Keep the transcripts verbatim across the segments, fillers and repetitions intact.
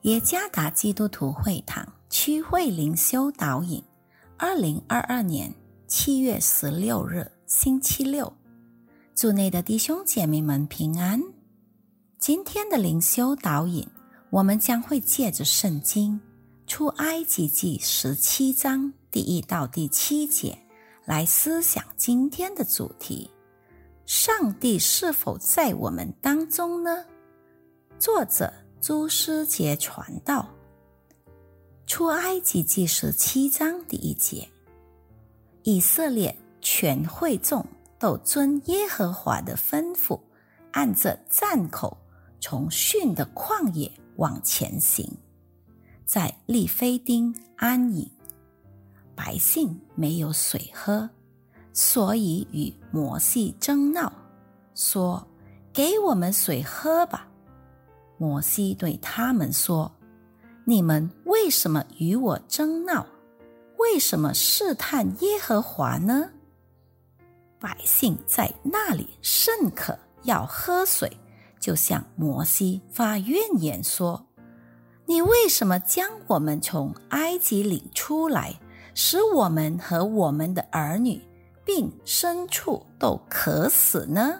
耶加达基督徒会堂区会灵修导引，二零二二年七月十六日星期六，主内的弟兄姐妹们平安。今天的灵修导引，我们将会借着圣经出埃及记十七章第一到第七节来思想今天的主题：上帝是否在我们当中呢？作者朱思杰传道。出埃及记十七章第一节，以色列全会众都遵耶和华的吩咐，按着站口从逊的旷野往前行，在利非丁安营。百姓没有水喝，所以与摩西争闹，说：给我们水喝吧。摩西对他们说：你们为什么与我争闹？为什么试探耶和华呢？百姓在那里甚渴，要喝水，就向摩西发怨言说：你为什么将我们从埃及领出来，使我们和我们的儿女并牲畜都渴死呢？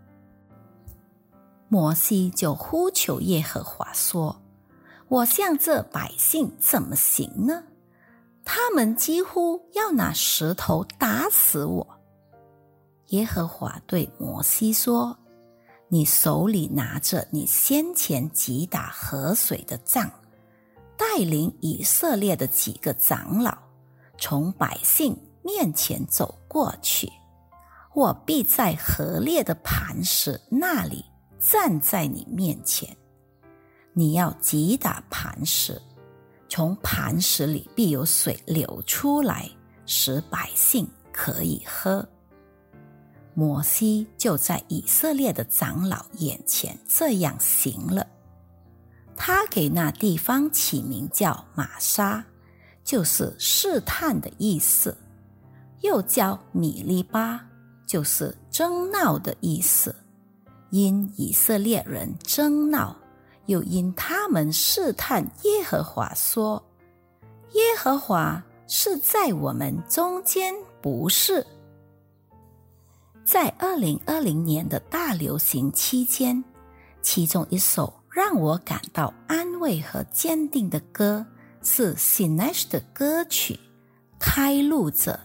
摩西就呼求耶和华说：我向这百姓怎么行呢？他们几乎要拿石头打死我。耶和华对摩西说：你手里拿着你先前击打河水的杖，带领以色列的几个长老从百姓面前走过去，我必在河裂的磐石那里站在你面前。你要击打磐石，从磐石里必有水流出来，使百姓可以喝。摩西就在以色列的长老眼前这样行了。他给那地方起名叫玛沙，就是试探的意思，又叫米利巴，就是争闹的意思。因以色列人争闹，又因他们试探耶和华说：耶和华是在我们中间，不是。在二零二零年的大流行期间，其中一首让我感到安慰和坚定的歌是 Sinesh 的歌曲《开路者》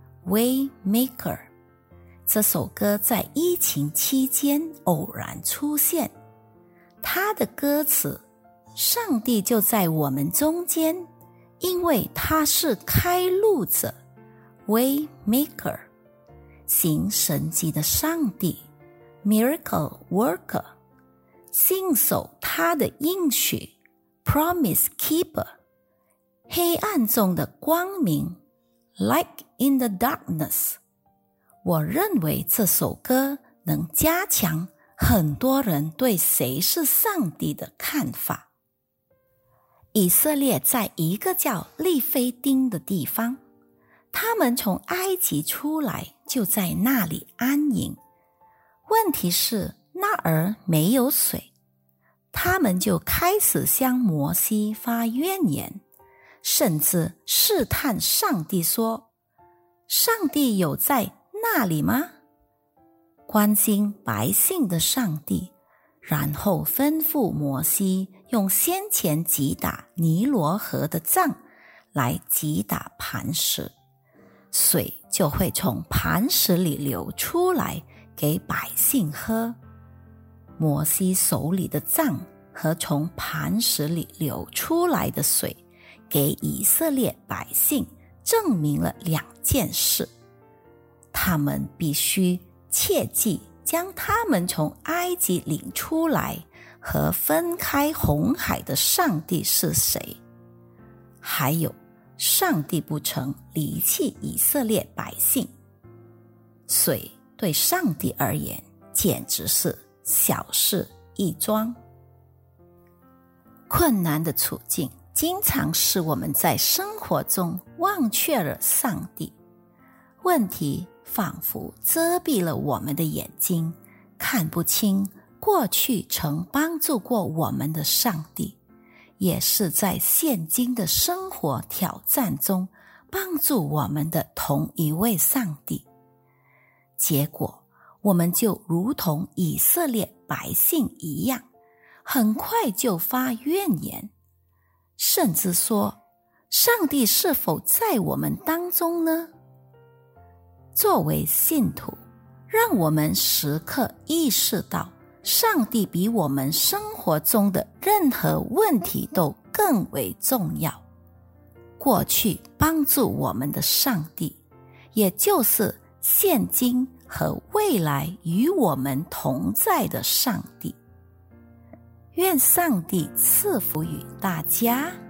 Waymaker。 这首歌在疫情期间偶然出现，它的歌词：上帝就在我们中间，因为他是开路者 Waymaker， 行神迹的上帝 Miracle Worker， 信守他的应许 Promise Keeper， 黑暗中的光明 Light in the Darkness。 我认为这首歌能加强很多人对谁是上帝的看法。以色列在一个叫利非丁的地方，他们从埃及出来，就在那里安营。问题是那儿没有水，他们就开始向摩西发怨言，甚至试探上帝说：上帝有在那里吗？关心百姓的上帝，然后吩咐摩西用先前击打尼罗河的杖来击打磐石，水就会从磐石里流出来给百姓喝。摩西手里的杖和从磐石里流出来的水，给以色列百姓证明了两件事：他们必须切记将他们从埃及领出来和分开红海的上帝是谁，还有上帝不曾离弃以色列百姓。水对上帝而言简直是小事一桩。困难的处境经常使我们在生活中忘却了上帝，问题仿佛遮蔽了我们的眼睛，看不清过去曾帮助过我们的上帝， 也是在现今的生活挑战中帮助我们的同一位上帝。结果我们就如同以色列百姓一样，很快就发怨言，甚至说，上帝是否在我们当中呢？作为信徒，让我们时刻意识到，上帝比我们生活中的任何问题都更为重要。过去帮助我们的上帝，也就是现今和未来与我们同在的上帝。愿上帝赐福于大家。